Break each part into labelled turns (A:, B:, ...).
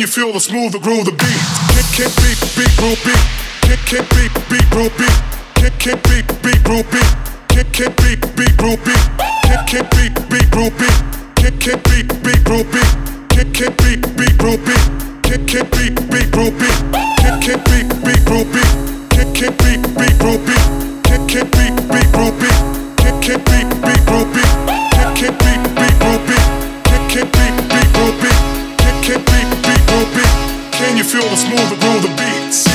A: feel the smooth, the groove, the beat? Can't beat, groove, beat. Can't beat, groove, beat. Can't beat, groove, beat. Can't beat, groove, beat. Can't beat, groove, beat. Can't beat, groove, beat. Can't beat, groove, beat. Can't beat, groove, beat. Can't beat, groove, beat. Can't beat, groove, beat. Can't beat, groove, beat. Can't beat, groove, beat. Can't beat, groove, beat. Can't beat, groove, beat. Can't beat, groove, beat. Can you feel the smooth, the groove, the beat? See.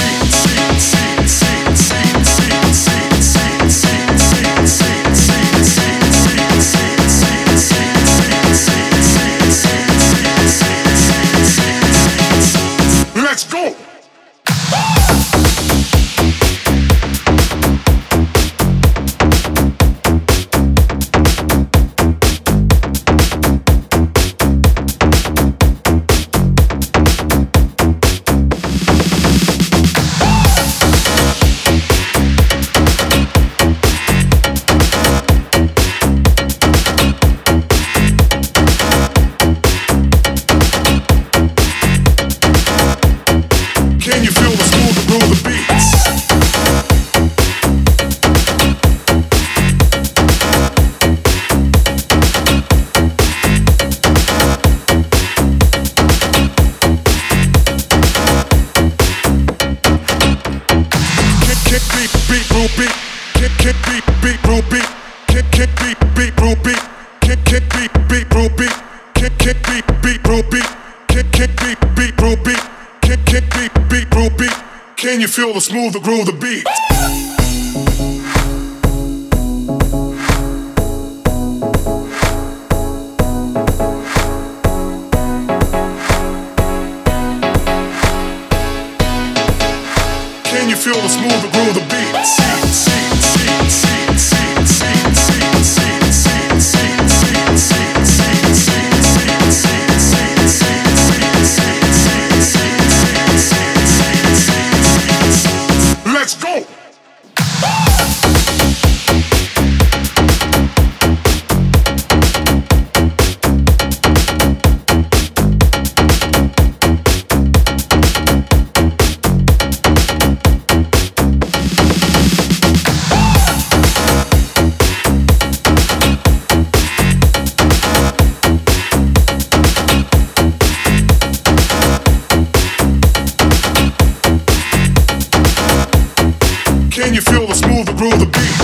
A: Let's go! Can you feel the smooth, the groove, the beats? Can't beat, groove, beat. Can't beat, groove, beat. Can't beat, groove, beat. Can't beat, groove, beat. Can't beat, groove, beat. Can't beat, groove, beat. Can't beat, groove, beat. Can you feel the smooth, the groove, the beat? Can you feel the smooth, the groove, the beat? See. Let's go! Can you feel the smooth, the groove, the beat?